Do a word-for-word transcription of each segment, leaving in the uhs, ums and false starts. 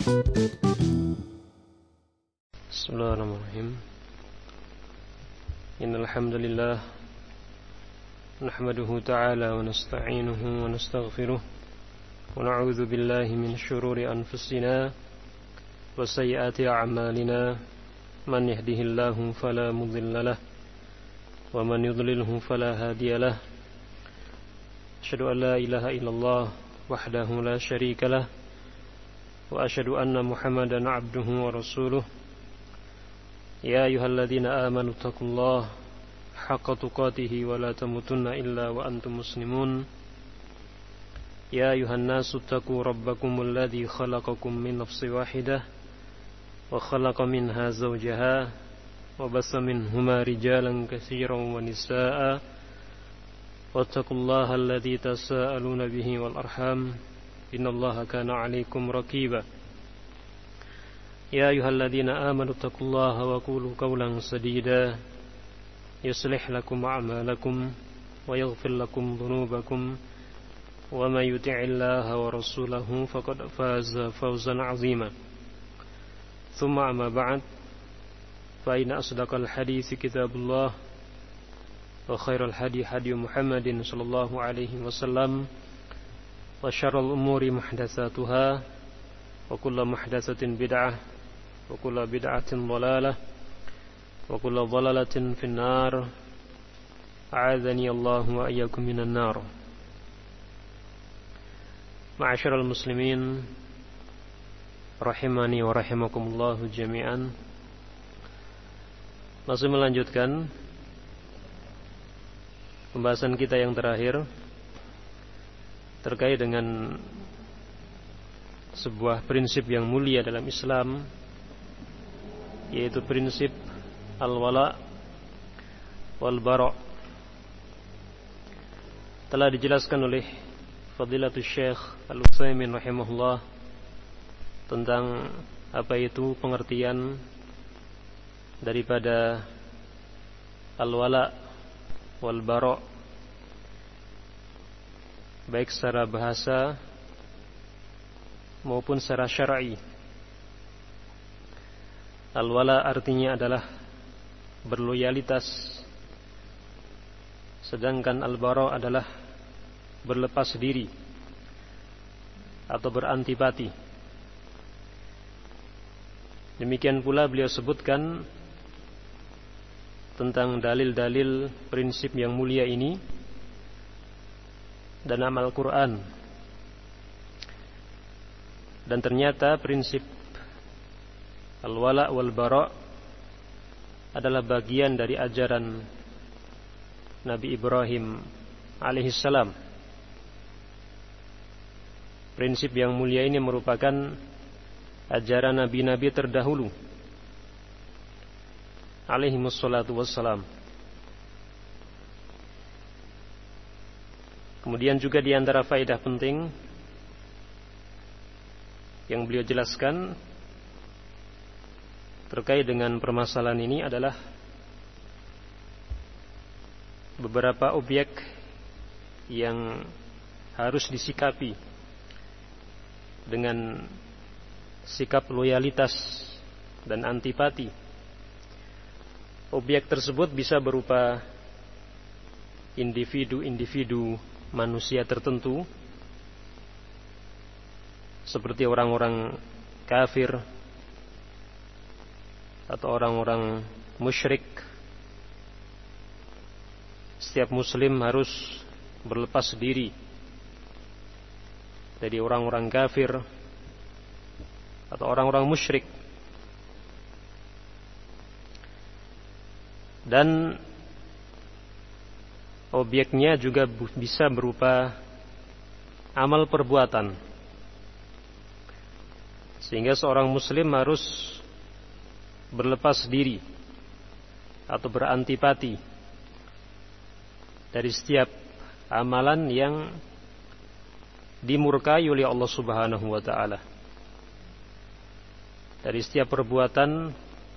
Bismillahirrahmanirrahim. Innal hamdalillah nahmaduhu ta'ala wa nasta'inuhu wa nastaghfiruh wa na'udzu billahi min shururi anfusina wa sayyiati a'malina. Man yahdihillahu fala mudilla lahu wa man yudlilhu fala hadiya lahu. Asyhadu an la ilaha illallah wahdahu la syarika lah wa asyhadu anna Muhammadan 'abduhu wa rasuluh. Ya ayyuhalladzina amanu taqullaha haqqa tuqatih wa la tamutunna illa wa antum muslimun. Ya ayyuhan nasu taqu rabbakumul ladzi khalaqakum min nafsin wahidah wa khalaqa minha zawjaha wa bassa minhuma rijalan katsiran wa nisaa'a wattaqullaha alladzi tasaaluna bihi wal arham innallaha kana 'alaikum raqiba. Ya ayyuhalladzina amanu taqullaha wa qulu qawlan sadida yuslih lakum a'malakum wa yaghfir lakum dhunubakum wa may yuti'illaha wa rasulahu faqad faza fawzan 'azima. Tsumma amma ba'd, fa inna asdaqal hadithi kitabullah wa khairal hadi hadi Muhammadin sallallahu alaihi wasallam wa syarrul umuri muhdatsatuha wa kullu muhdatsatin bid'ah wa kullu bid'atin dhalalah wa kullu dhalalatin finnar. A'adzani Allah wa iyyakum minan nar. Ma'asyiral muslimin rahimani wa rahimakumullah jami'an. Masih melanjutkan pembahasan kita yang terakhir terkait dengan sebuah prinsip yang mulia dalam Islam, yaitu prinsip al-wala wal bara. Telah dijelaskan oleh Fadilatul Syekh Al-Utsaimin rahimahullah tentang apa itu pengertian daripada al-wala wal bara, baik secara bahasa maupun secara syar'i. Al-wala artinya adalah berloyalitas, sedangkan al-bara adalah berlepas diri atau berantipati. Demikian pula beliau sebutkan tentang dalil-dalil prinsip yang mulia ini dalam Al-Quran. Dan ternyata prinsip al-wala wal bara adalah bagian dari ajaran Nabi Ibrahim alaihissalam. Prinsip yang mulia ini merupakan ajaran nabi-nabi terdahulu alaihimussalatu wassalam. Kemudian juga di antara faedah penting yang beliau jelaskan terkait dengan permasalahan ini adalah beberapa objek yang harus disikapi dengan sikap loyalitas dan antipati. Objek tersebut bisa berupa individu-individu manusia tertentu, seperti orang-orang kafir atau orang-orang musyrik. Setiap muslim harus berlepas diri dari orang-orang kafir atau orang-orang musyrik. Dan objeknya juga bisa berupa amal perbuatan, sehingga seorang muslim harus berlepas diri atau berantipati dari setiap amalan yang dimurkai oleh Allah Subhanahu wa taala, dari setiap perbuatan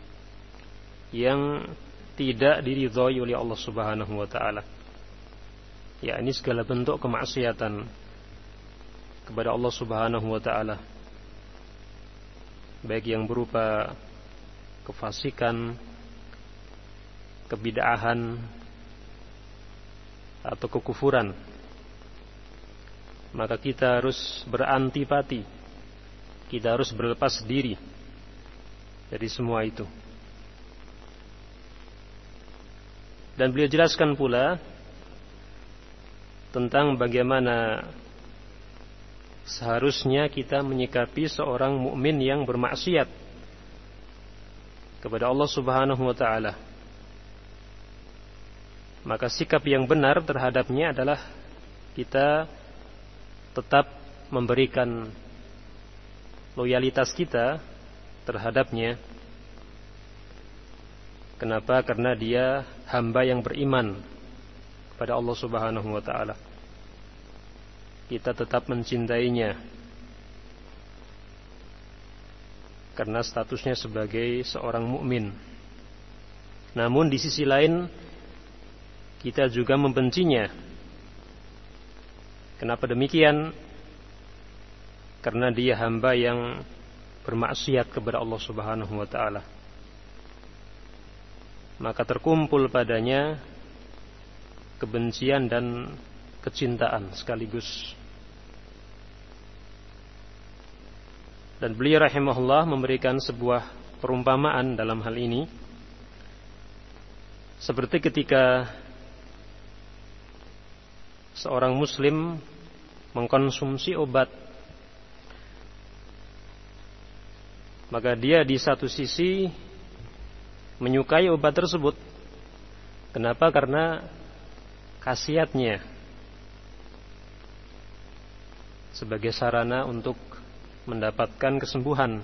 yang tidak diridhai oleh Allah Subhanahu wa taala, yakni segala bentuk kemaksiatan kepada Allah Subhanahu wa taala. baik yang berupa kefasikan, kebid'ahan, atau kekufuran, maka kita harus berantipati, kita harus berlepas diri dari semua itu. Dan beliau jelaskan pula tentang bagaimana seharusnya kita menyikapi seorang mukmin yang bermaksiat kepada Allah Subhanahu wa taala. Maka sikap yang benar terhadapnya adalah kita tetap memberikan loyalitas kita terhadapnya. Kenapa? Karena dia hamba yang beriman kepada Allah Subhanahu wa taala. Kita tetap mencintainya karena statusnya sebagai seorang mukmin. Namun di sisi lain kita juga membencinya. Kenapa demikian? Karena dia hamba yang bermaksiat kepada Allah Subhanahu wa taala. Maka terkumpul padanya kebencian dan kecintaan sekaligus. Dan beliau rahimahullah memberikan sebuah perumpamaan dalam hal ini, seperti ketika seorang muslim mengkonsumsi obat, maka dia di satu sisi menyukai obat tersebut. Kenapa? Karena khasiatnya sebagai sarana untuk mendapatkan kesembuhan.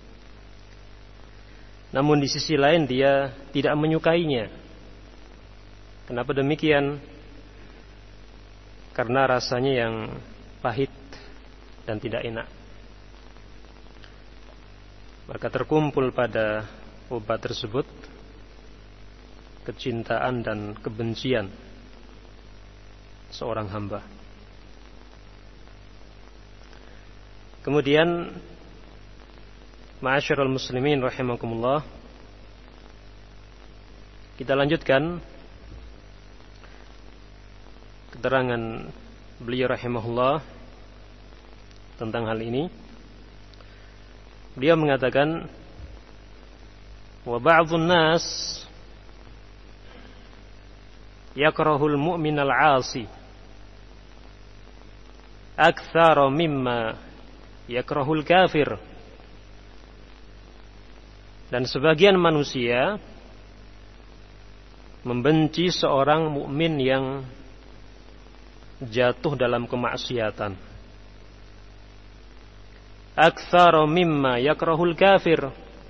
Namun di sisi lain dia tidak menyukainya. Kenapa demikian? Karena rasanya yang pahit dan tidak enak. Maka terkumpul pada obat tersebut kecintaan dan kebencian seorang hamba. Kemudian ma'asyiral muslimin rahimakumullah, kita lanjutkan keterangan beliau rahimahullah tentang hal ini. Beliau mengatakan, wa ba'dhun nas yakrahul mu'minal 'asi aktsara mimma yakrahul kafir. Dan sebagian manusia membenci seorang mukmin yang jatuh dalam kemaksiatan aktsara mimma yakrahul kafir,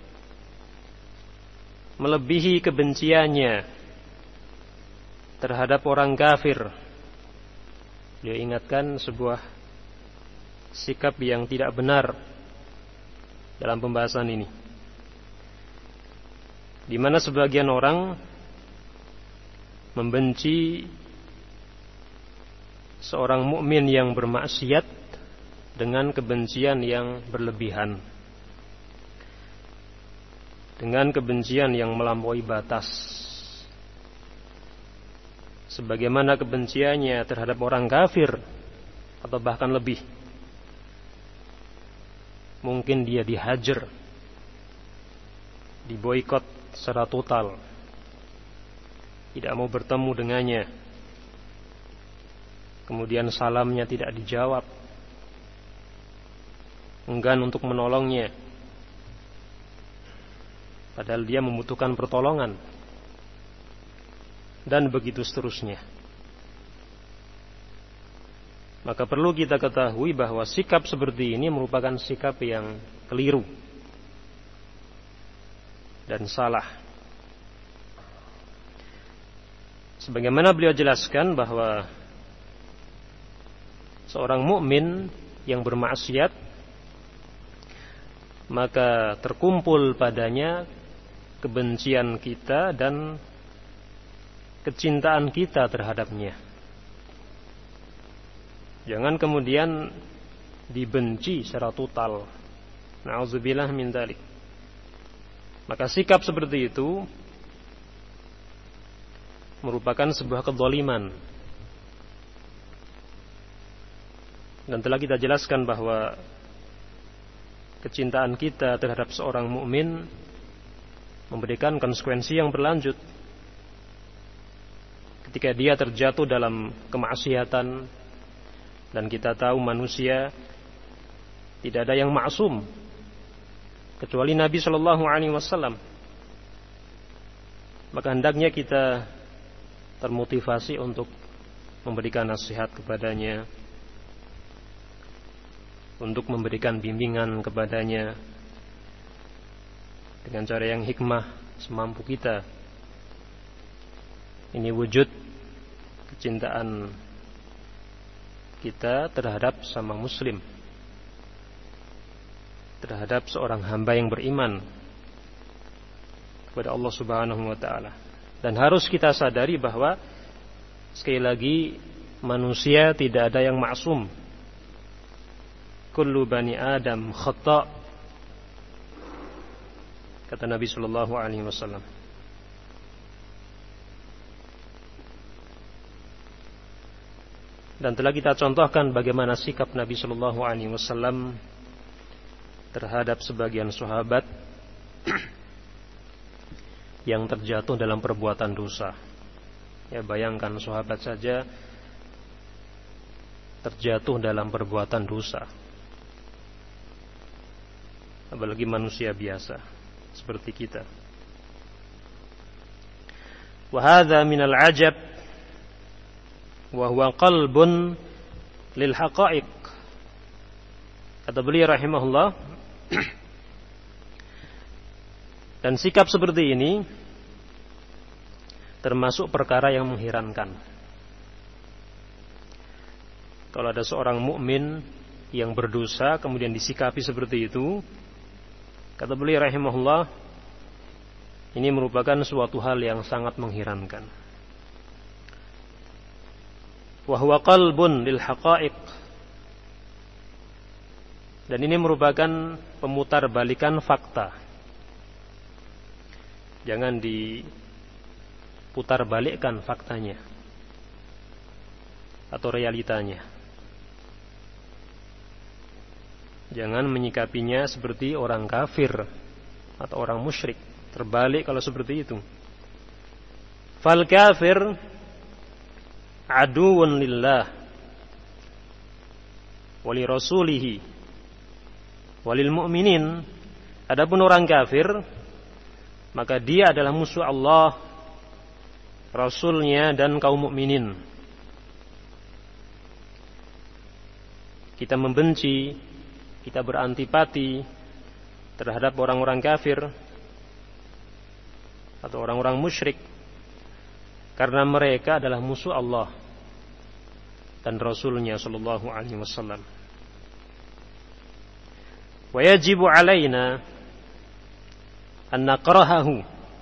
melebihi kebenciannya terhadap orang kafir. Dia ingatkan sebuah sikap yang tidak benar dalam pembahasan ini, di mana sebagian orang membenci seorang mukmin yang bermaksiat dengan kebencian yang berlebihan, dengan kebencian yang melampaui batas, sebagaimana kebenciannya terhadap orang kafir, atau bahkan lebih. Mungkin dia dihajar, diboikot secara total, tidak mau bertemu dengannya, kemudian salamnya tidak dijawab, enggan untuk menolongnya, padahal dia membutuhkan pertolongan, dan begitu seterusnya. Maka perlu kita ketahui bahwa sikap seperti ini merupakan sikap yang keliru dan salah. Sebagaimana beliau jelaskan bahwa seorang mukmin yang bermaksiat, maka terkumpul padanya kebencian kita dan kecintaan kita terhadapnya. Jangan kemudian dibenci secara total, Na'udzubillah min dzalik. Maka sikap seperti itu merupakan sebuah kezaliman. Dan telah kita jelaskan bahwa kecintaan kita terhadap seorang mukmin memberikan konsekuensi yang berlanjut. Ketika dia terjatuh dalam kemaksiatan, dan kita tahu manusia tidak ada yang maksum kecuali Nabi Shallallahu Alaihi Wasallam, maka hendaknya kita termotivasi untuk memberikan nasihat kepadanya, untuk memberikan bimbingan kepadanya dengan cara yang hikmah semampu kita. Ini wujud kecintaan kita terhadap sama muslim, terhadap seorang hamba yang beriman kepada Allah Subhanahu wa taala. Dan harus kita sadari bahwa sekali lagi manusia tidak ada yang maksum. Kullu bani Adam khata', kata Nabi sallallahu alaihi wasallam. Dan telah kita contohkan bagaimana sikap Nabi sallallahu alaihi wasallam terhadap sebagian sahabat yang terjatuh dalam perbuatan dosa. Ya, bayangkan sahabat saja terjatuh dalam perbuatan dosa, apalagi manusia biasa seperti kita. Wa hadza minal ajab wa huwa qalbun lil haqa'iq. Kata beliau rahimahullah, dan sikap seperti ini termasuk perkara yang mengherankan. Kalau ada seorang mukmin yang berdosa kemudian disikapi seperti itu, kata beliau rahimahullah, ini merupakan suatu hal yang sangat mengherankan. Wa huwa qalbun lil haqa'iq. Dan ini merupakan pemutarbalikan fakta. Jangan diputarbalikkan faktanya atau realitanya. Jangan menyikapinya seperti orang kafir atau orang musyrik. Terbalik kalau seperti itu. Fal kafir aduwwun lillah wa li rasulihi wa lil mu'minin. Adapun orang kafir, maka dia adalah musuh Allah, Rasulnya, dan kaum mukminin. Kita membenci, kita berantipati terhadap orang-orang kafir atau orang-orang musyrik karena mereka adalah musuh Allah dan Rasulnya sallallahu alaihi wasallam. Wa yajibu alaina an nakrahahu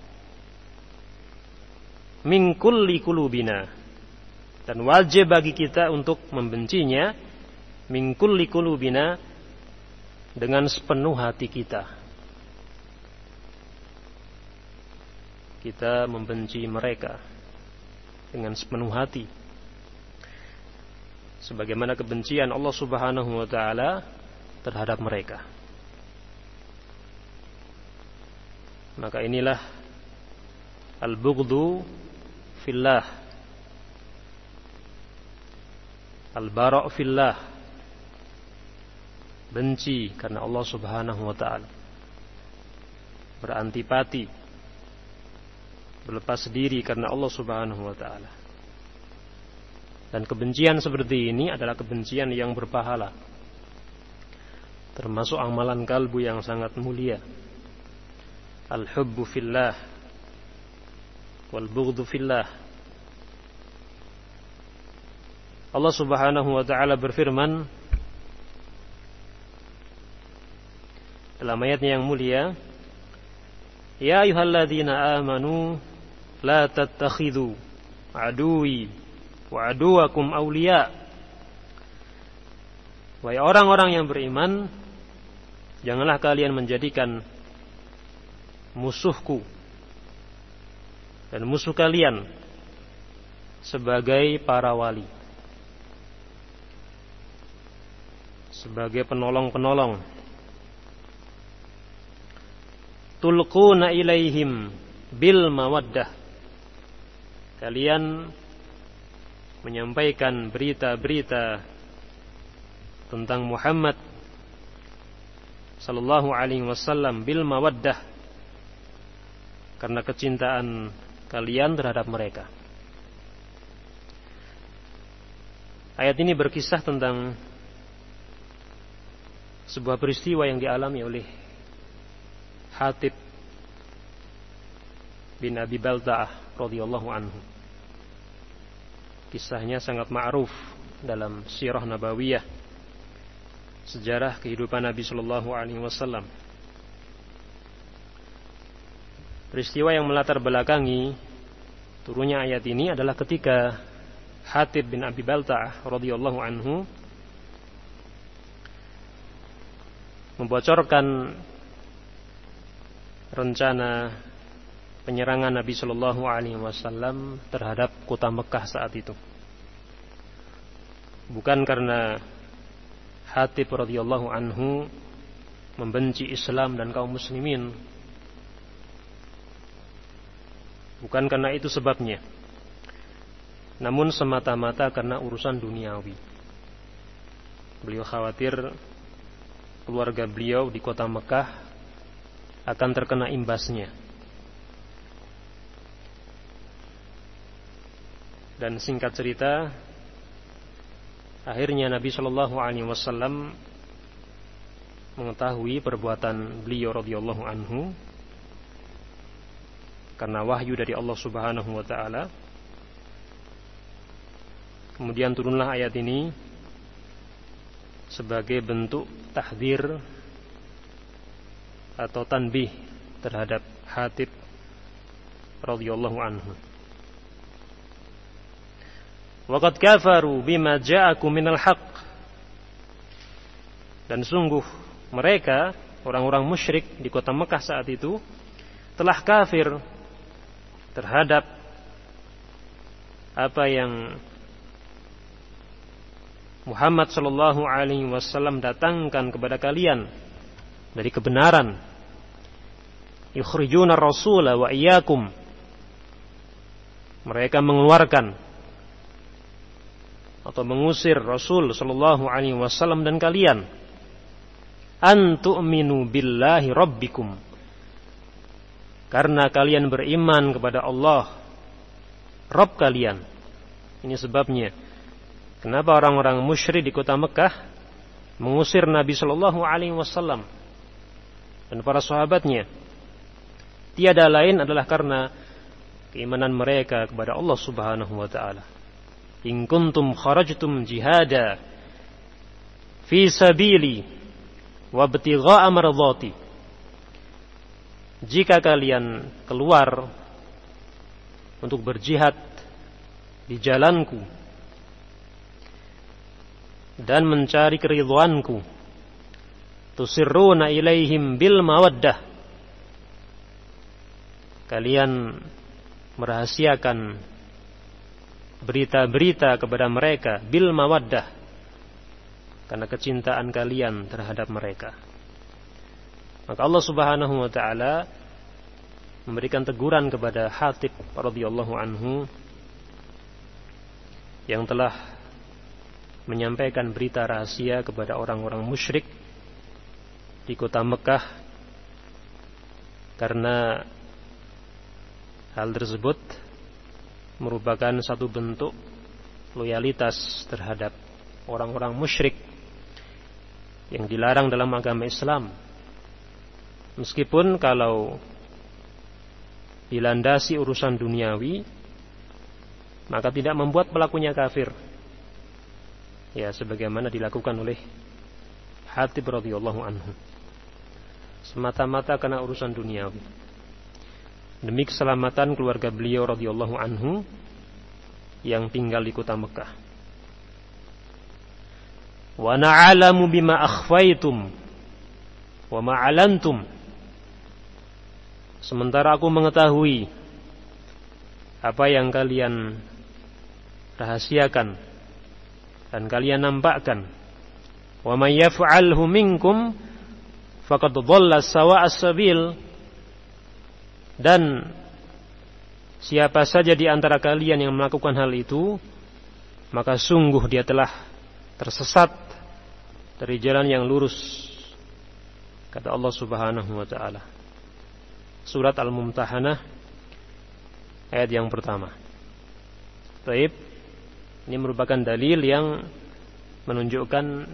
min kulli qulubina, dan wajib bagi kita untuk membencinya min kulli qulubina, dengan sepenuh hati kita. Kita membenci mereka dengan sepenuh hati, sebagaimana kebencian Allah Subhanahu wa taala terhadap mereka. Maka inilah al-bughdhu fillah, al-bara' fillah, benci karena Allah Subhanahu wa taala, berantipati, berlepas diri karena Allah Subhanahu wa taala. Dan kebencian seperti ini adalah kebencian yang berpahala, termasuk amalan kalbu yang sangat mulia. Al-hubbu fillah wal bughdhu fillah. Allah Subhanahu wa taala berfirman dalam ayatnya yang mulia, ya ayyuhalladzina amanu la tattakhidhu aduwi wa aduwakum awliya. Wahai orang-orang yang beriman, janganlah kalian menjadikan musuhku dan musuh kalian sebagai para wali, sebagai penolong-penolong. Tulquna ilaihim bil mawaddah, kalian menyampaikan berita-berita tentang Muhammad sallallahu alaihi wasallam bil mawaddah, karena kecintaan kalian terhadap mereka. Ayat ini berkisah tentang sebuah peristiwa yang dialami oleh Hatib bin Abi Balta'ah radhiyallahu anhu. Kisahnya sangat ma'ruf dalam sirah nabawiyah, sejarah kehidupan Nabi sallallahu alaihi wasallam. Peristiwa yang melatar belakangi turunnya ayat ini adalah ketika Hatib bin Abi Balta'ah radhiyallahu anhu membocorkan rencana penyerangan Nabi sallallahu alaihi wasallam terhadap kota Mekah saat itu. Bukan karena Hatib radhiyallahu anhu membenci Islam dan kaum muslimin, bukan karena itu sebabnya, namun semata-mata karena urusan duniawi. Beliau khawatir keluarga beliau di kota Mekah akan terkena imbasnya. Dan singkat cerita, akhirnya Nabi Shallallahu Alaihi Wasallam mengetahui perbuatan beliau radhiyallahu anhu karena wahyu dari Allah Subhanahu Wa Taala. Kemudian turunlah ayat ini sebagai bentuk tahdzir atau tanbih terhadap Hatib radhiyallahu anhu. Waqad kafaru bima ja'akum minal haqq, dan sungguh mereka orang-orang musyrik di kota Mekah saat itu telah kafir terhadap apa yang Muhammad sallallahu alaihi wasallam datangkan kepada kalian dari kebenaran. Yukhrijuna ar-rasula wa iyyakum, mereka mengeluarkan atau mengusir Rasul sallallahu alaihi wasallam dan kalian. An tu'minu billahi rabbikum, karena kalian beriman kepada Allah Rabb kalian. Ini sebabnya kenapa orang-orang musyrik di kota Mekah mengusir Nabi sallallahu alaihi wasallam dan para sahabatnya. Tiada lain adalah karena keimanan mereka kepada Allah Subhanahu wa taala. In kuntum kharajtum jihada fi sabili wa ibtigha'a mardhati, jika kalian keluar untuk berjihad di jalanku dan mencari keridhaanku, tusirruna ilaihim bil mawaddah, kalian merahasiakan berita-berita kepada mereka bil mawaddah, karena kecintaan kalian terhadap mereka. Maka Allah Subhanahu wa taala memberikan teguran kepada Hatib radhiyallahu anhu yang telah menyampaikan berita rahasia kepada orang-orang musyrik di kota Mekah, karena hal tersebut merupakan satu bentuk loyalitas terhadap orang-orang musyrik yang dilarang dalam agama Islam. Meskipun kalau dilandasi urusan duniawi, maka tidak membuat pelakunya kafir, ya sebagaimana dilakukan oleh Hatib radhiyallahu anhu, semata-mata karena urusan duniawi, demi keselamatan keluarga beliau radhiyallahu anhu yang tinggal di kota Mekah. Wa na'lamu bima akhfaytum wa ma'alantum, sementara aku mengetahui apa yang kalian rahasiakan dan kalian nampakkan. Wa may yaf'alhu minkum faqad dhalla sawa'as sabil, dan siapa saja di antara kalian yang melakukan hal itu, maka sungguh dia telah tersesat dari jalan yang lurus, kata Allah Subhanahu wa taala. Surat Al-Mumtahanah ayat yang pertama. Baik, ini merupakan dalil yang menunjukkan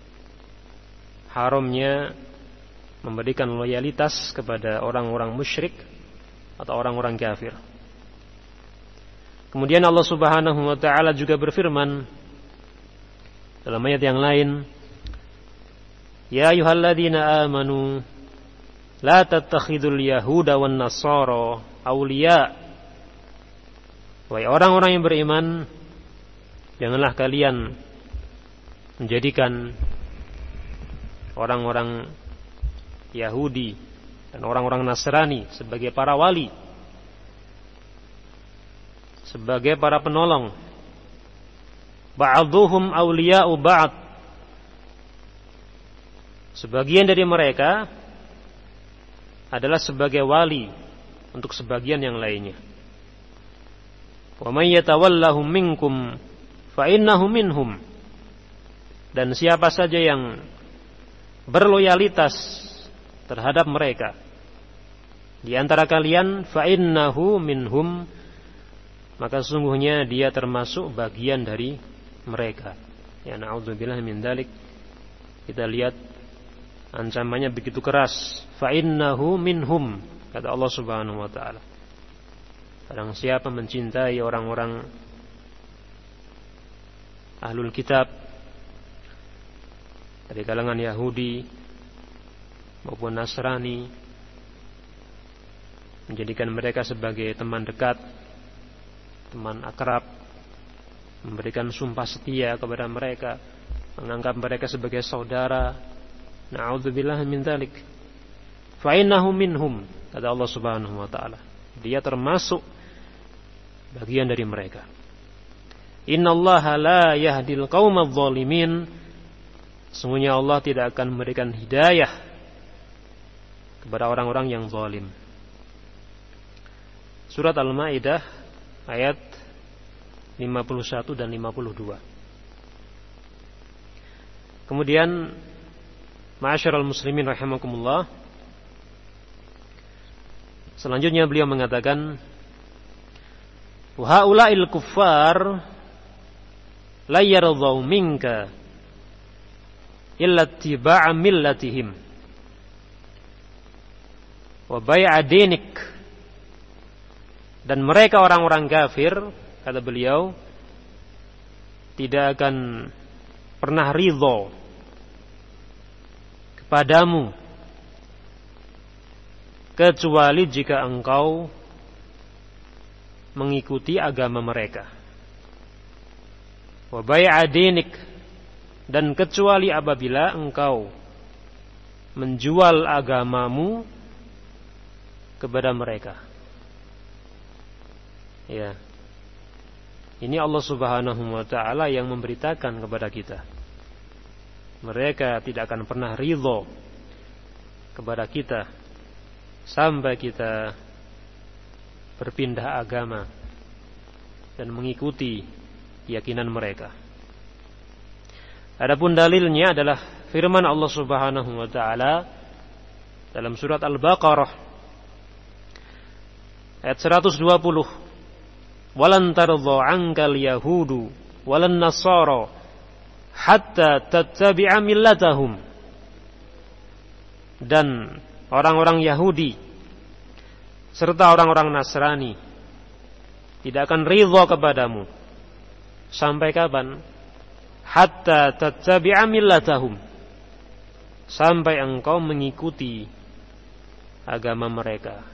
haramnya memberikan loyalitas kepada orang-orang musyrik atau orang-orang kafir. Kemudian Allah Subhanahu wa taala juga berfirman dalam ayat yang lain, ya ayyuhalladzina amanu la tattakhidul yahuda wan nasara awliya. Wahai orang-orang yang beriman, janganlah kalian menjadikan orang-orang Yahudi dan orang-orang Nasrani sebagai para wali, sebagai para penolong. Ba'dhuhum awliya'u ba'd, sebagian dari mereka adalah sebagai wali untuk sebagian yang lainnya. Wa may yatawallahum minkum fa innahu minhum, dan siapa saja yang berloyalitas terhadap mereka di antara kalian, fa innahu minhum, maka sungguhnya dia termasuk bagian dari mereka. Ya na'udzubillah min dzalik. Kita lihat ancamannya begitu keras. Fa innahu minhum, kata Allah Subhanahu wa taala. Barang siapa mencintai orang-orang ahlul kitab dari kalangan Yahudi maupun Nasrani, menjadikan mereka sebagai teman dekat, teman akrab, memberikan sumpah setia kepada mereka, menganggap mereka sebagai saudara, na'udzubillah min dzalik, fa innahu minhum, kata Allah Subhanahu wa taala, dia termasuk bagian dari mereka. Innallaha la yahdil qaumadz zalimin, sesungguhnya Allah tidak akan memberikan hidayah kepada orang-orang yang zalim. Surat Al-Maidah ayat lima puluh satu dan lima puluh dua. Kemudian ma'asyiral muslimin rahimakumullah, selanjutnya beliau mengatakan, wa haula'il kuffar la yardau minka illa ittiba'a millatihim wa bai'a dinik, dan mereka orang-orang kafir, kata beliau, tidak akan pernah ridho kepadamu kecuali jika engkau mengikuti agama mereka. Wa bai'a dinik, dan kecuali apabila engkau menjual agamamu kepada mereka. Ya. Ini Allah Subhanahu wa taala yang memberitakan kepada kita. Mereka tidak akan pernah ridho kepada kita sampai kita berpindah agama dan mengikuti keyakinan mereka. Adapun dalilnya adalah firman Allah Subhanahu wa taala dalam surat Al-Baqarah ayat seratus dua puluh, walan tardha 'ankal yahudu walan nasara hatta tattabi'a millatahum, dan orang-orang Yahudi serta orang-orang Nasrani tidak akan ridha kepadamu sampai kapan? Hatta tattabi'a millatahum, sampai engkau mengikuti agama mereka.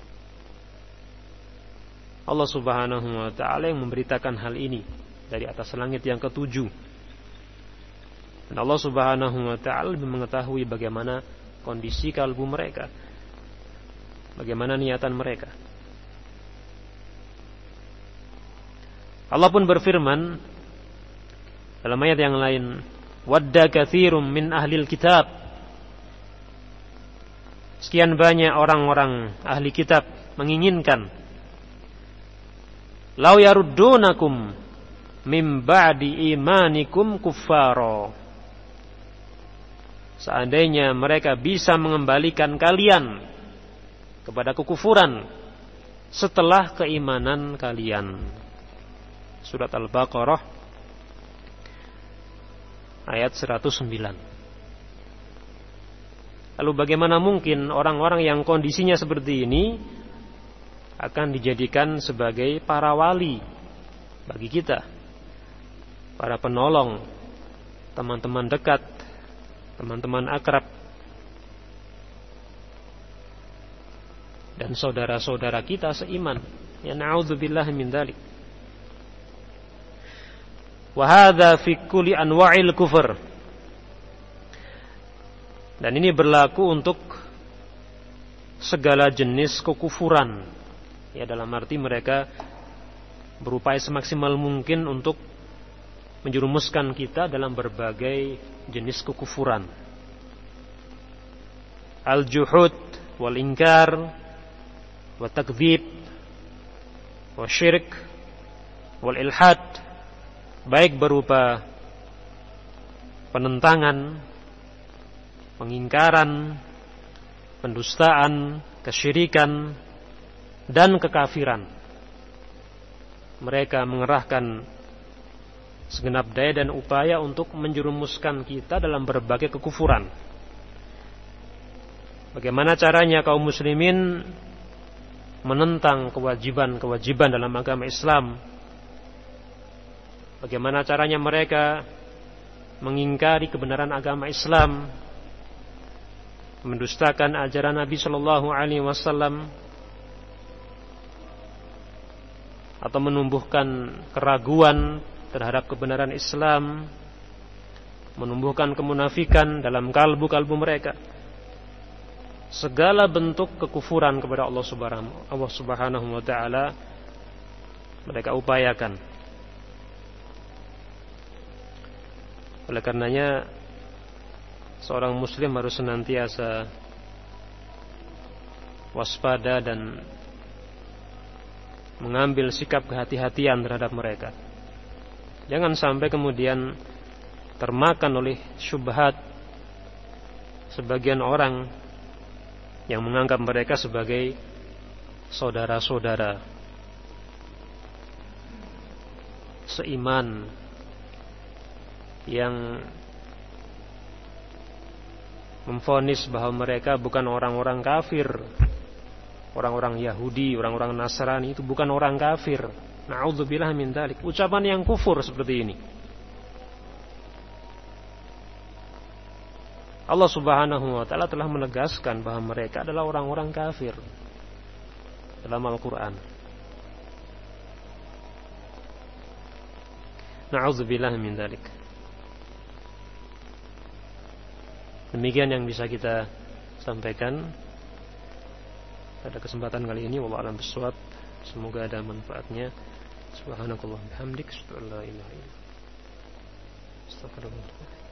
Allah Subhanahu wa ta'ala yang memberitakan hal ini dari atas langit yang ketujuh. Dan Allah Subhanahu wa ta'ala lebih mengetahui bagaimana kondisi kalbu mereka, bagaimana niatan mereka. Allah pun berfirman dalam ayat yang lain, wadda katsirum min ahlil kitab, sekian banyak orang-orang ahli kitab menginginkan, law yaruddunakum mim ba'di imanikum kuffara, seandainya mereka bisa mengembalikan kalian kepada kekufuran setelah keimanan kalian. Surat Al-Baqarah ayat seratus sembilan. Lalu bagaimana mungkin orang-orang yang kondisinya seperti ini akan dijadikan sebagai para wali bagi kita, para penolong, teman-teman dekat, teman-teman akrab, dan saudara-saudara kita seiman. Ya na'udzubillahi min dzalik. Wa hadza fi kulli anwa'il kufur. Dan ini berlaku untuk segala jenis kekufuran. Ya, dalam arti mereka berupaya semaksimal mungkin untuk menjerumuskan kita dalam berbagai jenis kekufuran. Al-juhud wal inkar wa takdzib wa syirik wal ilhad, baik berupa penentangan, pengingkaran, pendustaan, kesyirikan, dan kekafiran. Mereka mengerahkan segenap daya dan upaya untuk menjerumuskan kita dalam berbagai kekufuran. Bagaimana caranya kaum muslimin menentang kewajiban-kewajiban dalam agama Islam? Bagaimana caranya mereka mengingkari kebenaran agama Islam, mendustakan ajaran Nabi Shallallahu Alaihi Wasallam, atau menumbuhkan keraguan terhadap kebenaran Islam, menumbuhkan kemunafikan dalam kalbu-kalbu mereka. Segala bentuk kekufuran kepada Allah Subhanahu Allah Subhanahu wa taala mereka upayakan. Oleh karenanya seorang muslim harus senantiasa waspada dan mengambil sikap kehati-hatian terhadap mereka. Jangan sampai kemudian termakan oleh syubhat sebagian orang yang menganggap mereka sebagai saudara-saudara seiman, yang memvonis bahwa mereka bukan orang-orang kafir, orang-orang Yahudi, orang-orang Nasrani itu bukan orang kafir. Na'udzubillah min dzalik. Ucapan yang kufur seperti ini. Allah Subhanahu wa taala telah menegaskan bahwa mereka adalah orang-orang kafir dalam Al-Qur'an. Na'udzubillah min dzalik. Demikian yang bisa kita sampaikan pada kesempatan kali ini. Wallahu a'lam bishawab. Semoga ada manfaatnya. Subhanakallah bihamdik, asyhadu an la ilaha illa anta, astaghfiruka wa atubu ilaik.